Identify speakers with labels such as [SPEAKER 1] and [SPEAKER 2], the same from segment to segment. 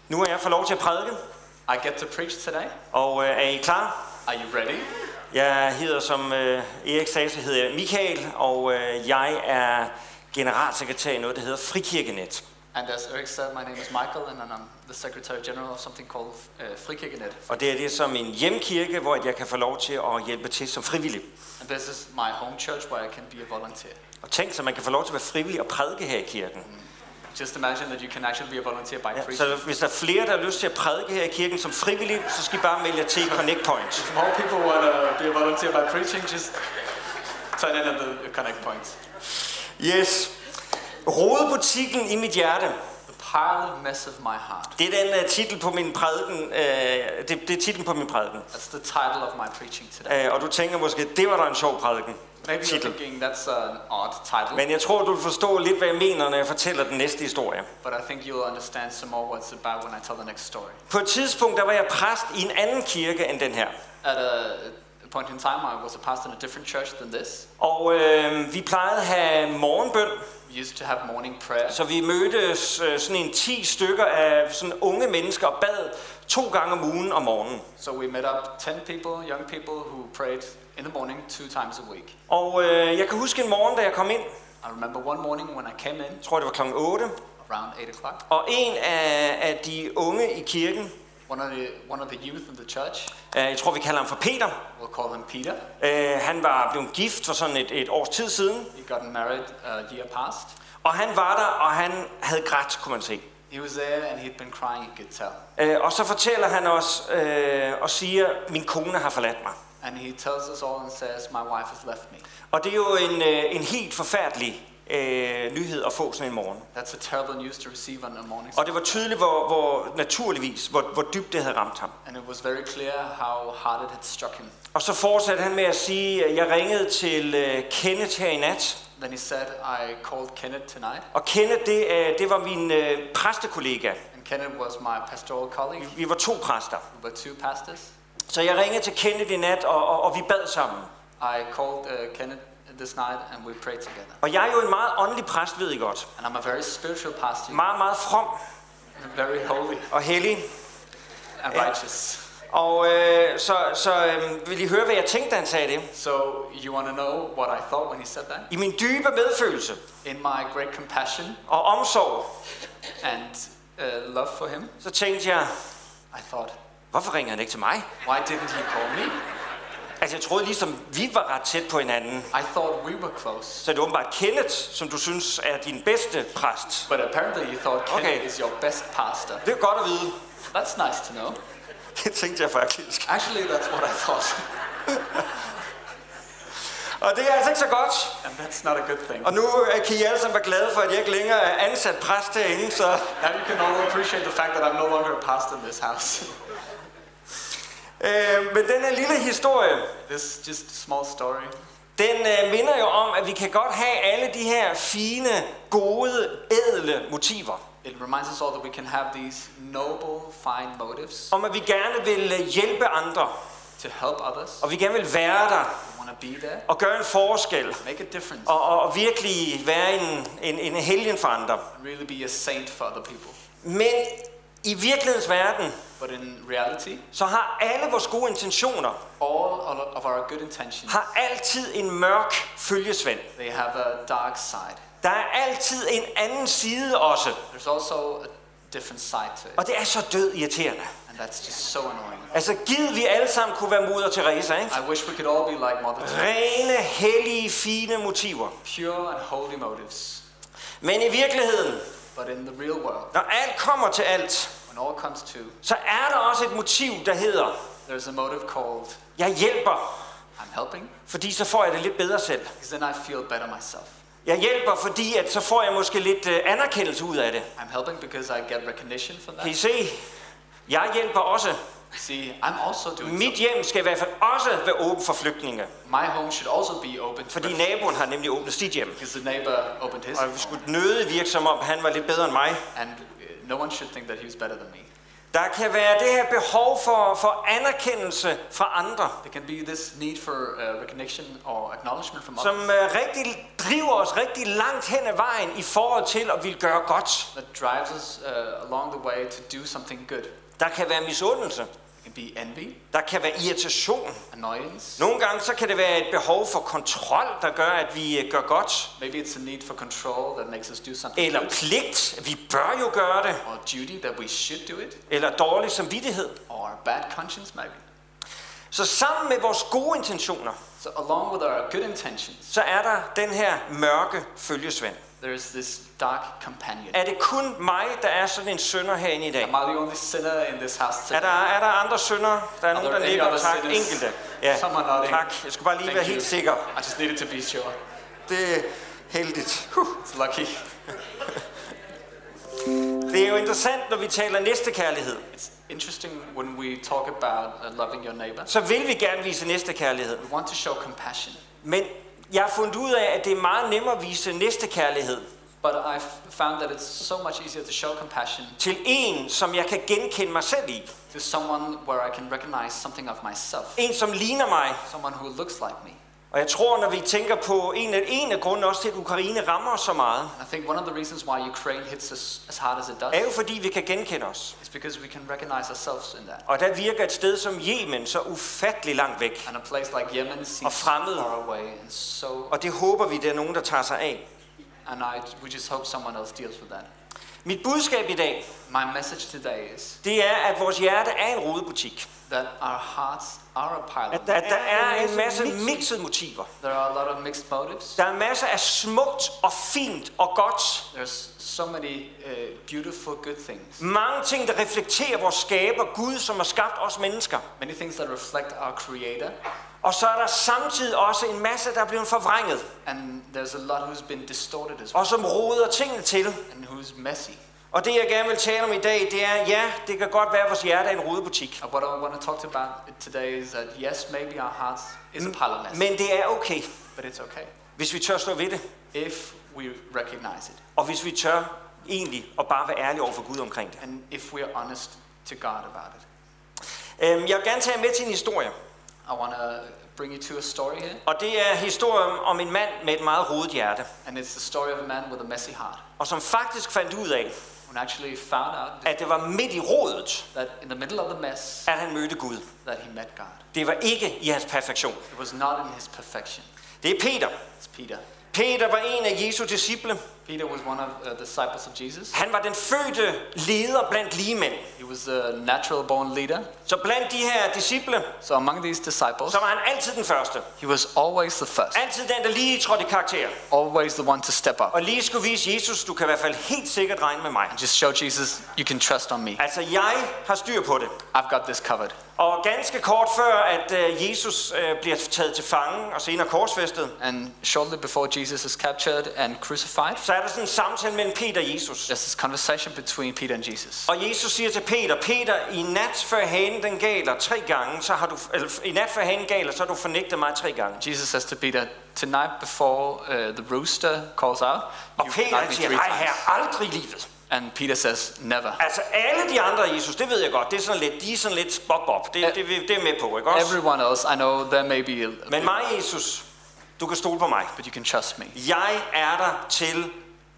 [SPEAKER 1] Nu er jeg fået lov til at prædike,
[SPEAKER 2] I get to preach today.
[SPEAKER 1] og er I klar?
[SPEAKER 2] Are you ready?
[SPEAKER 1] Jeg hedder, som Erik sagde, så hedder jeg Michael, og jeg er generalsekretær i noget, der hedder Frikirkenet.
[SPEAKER 2] And as Eric said, my name is Michael, and I'm the Secretary General of something called Frikirkenet.
[SPEAKER 1] Og det er som en hjemkirke, hvor jeg kan få lov til at hjælpe til som frivillig.
[SPEAKER 2] And this is my home church where I can be a volunteer.
[SPEAKER 1] Og tænk så, man kan få lov til at være frivillig og prædike her i kirken.
[SPEAKER 2] Just imagine that you can actually be a volunteer by preaching.
[SPEAKER 1] Så hvis der er flere, der har lyst til at prædike her i kirken som frivillig, så skal I bare melde jer til Connect Point.
[SPEAKER 2] If more people want to be a volunteer by preaching, just turn in at the Connect Point.
[SPEAKER 1] Yes. Rodebutikken i mit hjerte.
[SPEAKER 2] The parlor mess of my heart.
[SPEAKER 1] Det er den titel på min prædiken. Det er titlen på min prædiken.
[SPEAKER 2] That's the title of my preaching today.
[SPEAKER 1] Og du tænker måske, det var da en sjov prædiken.
[SPEAKER 2] Maybe you're thinking that's an odd title.
[SPEAKER 1] Men jeg tror, du vil forstå lidt, hvad jeg mener, når jeg fortæller den næste historie.
[SPEAKER 2] But I think you'll understand some more what it's about when I tell the next story.
[SPEAKER 1] På et tidspunkt, der var jeg præst i en anden kirke end den her.
[SPEAKER 2] At a point in time, I was a pastor in a different church than this.
[SPEAKER 1] Og vi plejede at have morgenbøn.
[SPEAKER 2] We used to have morning prayer.
[SPEAKER 1] Så vi mødtes sådan en 10 stykker af sådan unge mennesker og bad 2 gange om ugen om morgenen.
[SPEAKER 2] So we met up 10 people, young people who prayed in the morning 2 times a week.
[SPEAKER 1] Og jeg kan huske en morgen, da jeg kom ind.
[SPEAKER 2] I remember one morning when I came in.
[SPEAKER 1] Jeg tror, det var klokken 8.
[SPEAKER 2] Around 8 o'clock.
[SPEAKER 1] Og en af de unge i kirken.
[SPEAKER 2] One of the youth in the church.
[SPEAKER 1] Jeg tror, vi kalder ham for Peter.
[SPEAKER 2] We'll call him Peter.
[SPEAKER 1] Han var blevet gift for sådan et års tid siden.
[SPEAKER 2] He got married a year past.
[SPEAKER 1] Og han var der, og han havde grædt, kunne man se.
[SPEAKER 2] He was there and he'd been crying, you could tell.
[SPEAKER 1] Og så fortæller han os og siger, min kone har forladt mig.
[SPEAKER 2] And he tells us all and says, my wife has left me.
[SPEAKER 1] Og det er jo en helt forfærdelig nyhed at få sådan en morgen.
[SPEAKER 2] That's a terrible news to receive on a morning.
[SPEAKER 1] Og det var tydeligt, hvor dybt det havde ramt ham.
[SPEAKER 2] And it was very clear how hard it had struck him.
[SPEAKER 1] Og så fortsatte han med at sige, at jeg ringede til Kenneth her i nat.
[SPEAKER 2] Then he said, I called Kenneth tonight.
[SPEAKER 1] Og Kenneth, det var min præstekollega.
[SPEAKER 2] And Kenneth was my pastoral colleague.
[SPEAKER 1] Vi var 2 præster.
[SPEAKER 2] We were 2 pastors.
[SPEAKER 1] Så jeg ringede til Kenneth i nat, og vi bad sammen.
[SPEAKER 2] I called Kenneth this night and we prayed together.
[SPEAKER 1] Og jeg er jo en meget åndelig præst, ved I godt.
[SPEAKER 2] And I'm a very spiritual pastor.
[SPEAKER 1] Meget, meget from.
[SPEAKER 2] Very holy.
[SPEAKER 1] Og hellig.
[SPEAKER 2] And righteous.
[SPEAKER 1] Og vil I høre, hvad jeg tænkte, da han sagde det?
[SPEAKER 2] So you want to know what I thought when he said that?
[SPEAKER 1] I min dybe medfølelse.
[SPEAKER 2] In my great compassion.
[SPEAKER 1] Og omsorg.
[SPEAKER 2] And love for him.
[SPEAKER 1] Så tænkte jeg,
[SPEAKER 2] I thought,
[SPEAKER 1] hvorfor ringer han ikke til mig?
[SPEAKER 2] why didn't he call me?
[SPEAKER 1] Altså jeg troede ligesom, vi var ret tæt på hinanden.
[SPEAKER 2] I thought we were close.
[SPEAKER 1] Så det er åbenbart Kenneth, som du synes er din bedste præst.
[SPEAKER 2] But apparently you thought Kenneth is your best pastor.
[SPEAKER 1] Det er godt at vide.
[SPEAKER 2] That's nice to know.
[SPEAKER 1] Det tænkte jeg faktisk.
[SPEAKER 2] Actually, that's what I thought.
[SPEAKER 1] Og det er altså ikke så godt.
[SPEAKER 2] And that's not a good thing.
[SPEAKER 1] Og nu kan I alle sammen være glade for, at jeg ikke længere er ansat præst herinde, så...
[SPEAKER 2] Now you can all appreciate the fact that I'm no longer a pastor in this house.
[SPEAKER 1] Men den her lille historie,
[SPEAKER 2] This just a small story.
[SPEAKER 1] den minder jo om, at vi kan godt have alle de her fine, gode, ædle motiver.
[SPEAKER 2] It reminds us all that we can have these noble, fine motives
[SPEAKER 1] Om at vi gerne vil hjælpe andre,
[SPEAKER 2] to help others.
[SPEAKER 1] og vi gerne vil være der,
[SPEAKER 2] We want to be there,
[SPEAKER 1] og gøre en forskel,
[SPEAKER 2] make a difference,
[SPEAKER 1] og virkelig være en helgen for andre.
[SPEAKER 2] and really be a saint for other people.
[SPEAKER 1] Men i virkelighedens verden,
[SPEAKER 2] But in reality,
[SPEAKER 1] så har alle vores gode intentioner,
[SPEAKER 2] all of our good intentions,
[SPEAKER 1] har altid en mørk følgesvend.
[SPEAKER 2] they have a dark side.
[SPEAKER 1] Der er altid en anden side også,
[SPEAKER 2] There's also a different side to it.
[SPEAKER 1] og det er så død irriterende.
[SPEAKER 2] And that's just so annoying.
[SPEAKER 1] Altså givet vi alle sammen kunne være Moder Teresa, ikke?
[SPEAKER 2] I wish we could all be like Mother Teresa.
[SPEAKER 1] Rene, hellige, fine motiver.
[SPEAKER 2] Pure and holy motives.
[SPEAKER 1] Men i virkeligheden,
[SPEAKER 2] But in the real world,
[SPEAKER 1] når alt kommer til alt,
[SPEAKER 2] when all comes to,
[SPEAKER 1] så er der også et motiv, der hedder,
[SPEAKER 2] there's a motive called,
[SPEAKER 1] jeg hjælper,
[SPEAKER 2] I'm helping,
[SPEAKER 1] fordi så får jeg det lidt bedre selv.
[SPEAKER 2] because then I feel better myself.
[SPEAKER 1] Jeg hjælper, fordi at så får jeg måske lidt anerkendelse ud af det.
[SPEAKER 2] I'm helping because I get recognition from
[SPEAKER 1] Kan I
[SPEAKER 2] that.
[SPEAKER 1] se? Jeg hjælper også.
[SPEAKER 2] See, I'm also doing
[SPEAKER 1] Mit
[SPEAKER 2] something.
[SPEAKER 1] hjem skal i hvert fald også være åbent for flygtninge.
[SPEAKER 2] My home should also be open to
[SPEAKER 1] Fordi
[SPEAKER 2] refugees,
[SPEAKER 1] naboen har nemlig åbnet sit hjem.
[SPEAKER 2] because the neighbor opened his
[SPEAKER 1] Og vi
[SPEAKER 2] home.
[SPEAKER 1] skulle nødig virke som om, han var lidt bedre end mig.
[SPEAKER 2] And no one should think that he's better than me.
[SPEAKER 1] Der kan være det her behov for anerkendelse fra andre,
[SPEAKER 2] There can be this need for recognition or acknowledgement from
[SPEAKER 1] som
[SPEAKER 2] others
[SPEAKER 1] rigtig driver os rigtig langt hen ad vejen i forhold til at ville gøre godt.
[SPEAKER 2] that drives us along the way to do something good.
[SPEAKER 1] Der kan være misundelse.
[SPEAKER 2] It can be envy,
[SPEAKER 1] Der kan være irritation.
[SPEAKER 2] annoyance.
[SPEAKER 1] Nogle gange så kan det være et behov for kontrol, der gør, at vi gør godt.
[SPEAKER 2] Maybe it's a need for control that makes us do something
[SPEAKER 1] Eller
[SPEAKER 2] good.
[SPEAKER 1] pligt. Vi bør jo gøre det.
[SPEAKER 2] Or duty that we should do it.
[SPEAKER 1] Eller dårlig samvittighed.
[SPEAKER 2] Or bad conscience maybe.
[SPEAKER 1] Så sammen med vores gode intentioner,
[SPEAKER 2] So along with our good intentions,
[SPEAKER 1] så er der den her mørke følgesvend.
[SPEAKER 2] there's this dark companion.
[SPEAKER 1] Er det kun mig, der er sådan en synder herinde i dag?
[SPEAKER 2] Am I the only sinner in this house
[SPEAKER 1] Er
[SPEAKER 2] today?
[SPEAKER 1] der andre syndere? Der er nogen, der
[SPEAKER 2] there any
[SPEAKER 1] nikker.
[SPEAKER 2] other
[SPEAKER 1] Tak.
[SPEAKER 2] sinners?
[SPEAKER 1] Enkelte. Ja,
[SPEAKER 2] Someone nodding.
[SPEAKER 1] tak. Jeg skulle bare lige
[SPEAKER 2] Thank
[SPEAKER 1] være
[SPEAKER 2] you.
[SPEAKER 1] helt sikker.
[SPEAKER 2] I just needed to be sure.
[SPEAKER 1] Det er heldigt.
[SPEAKER 2] It's lucky.
[SPEAKER 1] Det er jo interessant, når vi taler næstekærlighed.
[SPEAKER 2] It's interesting when we talk about loving your neighbor.
[SPEAKER 1] Så vil vi gerne vise næstekærlighed.
[SPEAKER 2] We want to show compassion.
[SPEAKER 1] Men jeg har fundet ud af, at det er meget nemmere at vise næstekærlighed
[SPEAKER 2] But I've found that it's so much easier to show compassion
[SPEAKER 1] til en, som jeg kan genkende mig selv i.
[SPEAKER 2] to someone where I can recognize something of myself.
[SPEAKER 1] En, som ligner mig.
[SPEAKER 2] Someone who looks like me.
[SPEAKER 1] Og jeg tror, når vi tænker på en af grunden også til, at Ukraine rammer os så meget,
[SPEAKER 2] I think one of the reasons why Ukraine hits us as hard as it does
[SPEAKER 1] er jo fordi, vi kan genkende os.
[SPEAKER 2] is because we can recognize ourselves in that.
[SPEAKER 1] Og der virker et sted som Yemen så ufattelig langt væk.
[SPEAKER 2] And a place like Yemen
[SPEAKER 1] Og
[SPEAKER 2] seems
[SPEAKER 1] fremmede.
[SPEAKER 2] far away and so,
[SPEAKER 1] Og det håber vi, der er nogen, der tager sig af.
[SPEAKER 2] and we just hope someone else deals with that.
[SPEAKER 1] Mit budskab i dag,
[SPEAKER 2] My message today is
[SPEAKER 1] det er, at vores hjerte er en rodebutik.
[SPEAKER 2] that our hearts are a pile of
[SPEAKER 1] At der er en masse mixede motiver.
[SPEAKER 2] There are a lot of mixed motives.
[SPEAKER 1] Der er masser af smukt og fint og godt.
[SPEAKER 2] There's so many beautiful good things.
[SPEAKER 1] Mange ting, der reflekterer vores skaber, Gud, som har skabt os mennesker.
[SPEAKER 2] Many things that reflect our Creator.
[SPEAKER 1] Og så er der samtidig også en masse, der er blevet forvrænget.
[SPEAKER 2] And there's a lot who's been distorted as well.
[SPEAKER 1] Og som roder tingene til.
[SPEAKER 2] And who's messy.
[SPEAKER 1] Og det, jeg gerne vil tale om i dag, det er, ja, det kan godt være, at vores hjerte er en rodebutik.
[SPEAKER 2] What I want to talk about today is that yes, maybe our hearts is a pile of mess.
[SPEAKER 1] Men det er okay,
[SPEAKER 2] But it's okay
[SPEAKER 1] hvis vi tør stå ved det.
[SPEAKER 2] if we recognize it.
[SPEAKER 1] Og hvis vi tør egentlig at bare være ærlige over for Gud omkring det.
[SPEAKER 2] And if we are honest to God about it.
[SPEAKER 1] Jeg vil gerne tage jer med til en historie.
[SPEAKER 2] I want to bring you to a story here.
[SPEAKER 1] Og det er historien om en mand med et meget rodet hjerte.
[SPEAKER 2] And it's the story of a man with a messy heart.
[SPEAKER 1] Og som faktisk fandt ud af,
[SPEAKER 2] Who actually found out
[SPEAKER 1] at det var midt i rodet,
[SPEAKER 2] that in the middle of the mess,
[SPEAKER 1] at han mødte Gud.
[SPEAKER 2] that he met God.
[SPEAKER 1] Det var ikke i hans perfektion.
[SPEAKER 2] It was not in his perfection.
[SPEAKER 1] Det er Peter.
[SPEAKER 2] It's Peter.
[SPEAKER 1] Peter var en af Jesu disciple.
[SPEAKER 2] Peter was one of the disciples of Jesus.
[SPEAKER 1] Han var den fødte leder blandt ligemænd.
[SPEAKER 2] He was a natural born leader.
[SPEAKER 1] Så blandt de her disciple,
[SPEAKER 2] So among these disciples,
[SPEAKER 1] så var han altid den første.
[SPEAKER 2] he was always the first.
[SPEAKER 1] Altid den, der lige trådte i karakter.
[SPEAKER 2] Always the one to step up.
[SPEAKER 1] Og lige skulle vise Jesus, du kan i hvert fald helt sikkert regne med mig.
[SPEAKER 2] Just show Jesus, you can trust on me.
[SPEAKER 1] Altså, jeg har styr på det.
[SPEAKER 2] I've got this covered.
[SPEAKER 1] Og ganske kort før, at Jesus bliver taget til fange og senere korsfæstet,
[SPEAKER 2] And shortly before Jesus is captured and crucified,
[SPEAKER 1] så er der sådan en samtale mellem Peter og Jesus.
[SPEAKER 2] there's this conversation between Peter and Jesus.
[SPEAKER 1] Og Jesus siger til Peter, Peter, i nat før hanen den galer 3 gange, så har du, eller i nat før hanen galer, så har du fornægtet mig 3 gange.
[SPEAKER 2] Jesus says to Peter, tonight before the rooster calls out,
[SPEAKER 1] Og
[SPEAKER 2] you
[SPEAKER 1] Peter
[SPEAKER 2] denied
[SPEAKER 1] han
[SPEAKER 2] me
[SPEAKER 1] siger,
[SPEAKER 2] 3
[SPEAKER 1] nej
[SPEAKER 2] times.
[SPEAKER 1] herre, aldrig i livet.
[SPEAKER 2] And Peter says, never.
[SPEAKER 1] Altså alle de andre Jesus, det ved jeg godt, det er sådan lidt, de er sådan lidt bob. Det er med på, ikke også?
[SPEAKER 2] Everyone else, I know there may be a
[SPEAKER 1] Men mig, Jesus, du kan stole på mig.
[SPEAKER 2] but you can trust me.
[SPEAKER 1] Jeg er der til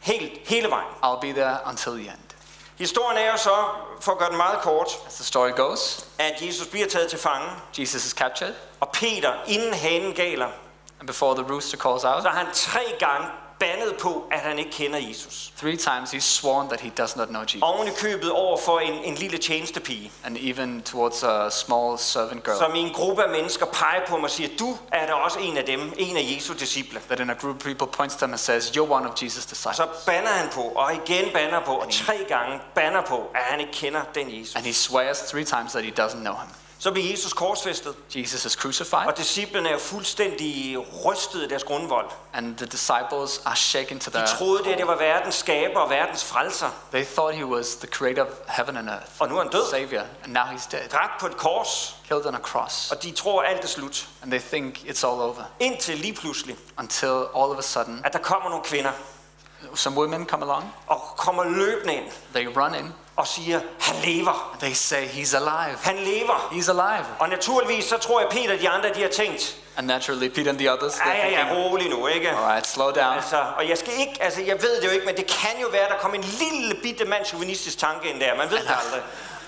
[SPEAKER 1] hele vejen.
[SPEAKER 2] I'll be there until the end.
[SPEAKER 1] Historien er jo så, for at gøre den meget kort,
[SPEAKER 2] As the story goes,
[SPEAKER 1] at Jesus bliver taget til fange,
[SPEAKER 2] Jesus is captured,
[SPEAKER 1] og Peter, inden hanen galer,
[SPEAKER 2] and before the rooster calls out,
[SPEAKER 1] så har han 3 gange bandet på, at han ikke kender Jesus.
[SPEAKER 2] 3 times he's sworn that he does not know Jesus.
[SPEAKER 1] Oven i købet over for en lille tjenestepige,
[SPEAKER 2] And even towards a small servant girl.
[SPEAKER 1] som i en gruppe af mennesker peger på ham og siger, du er da også en af dem, en af Jesu disciple.
[SPEAKER 2] That in a group of people points to them and says, you're one of Jesus' disciples.
[SPEAKER 1] Så banner han på, og igen banner på, og 3 gange banner på, at han ikke kender den Jesus.
[SPEAKER 2] And he swears 3 times that he doesn't know him.
[SPEAKER 1] Så bliver Jesus korsfæstet,
[SPEAKER 2] Jesus is crucified,
[SPEAKER 1] og disciplene er jo fuldstændig rystet af deres grundvold.
[SPEAKER 2] and the disciples are shaken to
[SPEAKER 1] De
[SPEAKER 2] their
[SPEAKER 1] troede, det var verdens skaber og verdens frelser.
[SPEAKER 2] They thought he was the creator of heaven and earth,
[SPEAKER 1] Og nu er han død,
[SPEAKER 2] savior, and now he's dead,
[SPEAKER 1] dræbt på et kors,
[SPEAKER 2] killed on a cross,
[SPEAKER 1] og de tror, alt er slut.
[SPEAKER 2] and they think it's all over.
[SPEAKER 1] Indtil lige pludselig,
[SPEAKER 2] Until all of a sudden,
[SPEAKER 1] at der kommer nogle kvinder,
[SPEAKER 2] some women come along,
[SPEAKER 1] og kommer løbende ind,
[SPEAKER 2] they run in,
[SPEAKER 1] og siger, han lever.
[SPEAKER 3] They say he's alive.
[SPEAKER 1] Han lever.
[SPEAKER 3] He's alive.
[SPEAKER 1] Og naturligvis så tror jeg, Peter og de andre, de har tænkt,
[SPEAKER 3] And naturally, Peter and the others, they're
[SPEAKER 1] ja,
[SPEAKER 3] thinking,
[SPEAKER 1] rolig nu, ikke?
[SPEAKER 3] all right, slow down.
[SPEAKER 1] Altså, og jeg skal ikke, altså jeg ved det jo ikke, men det kan jo være, der kom en lille bitte mandsjuvenistisk tanke ind der. Man ved det aldrig.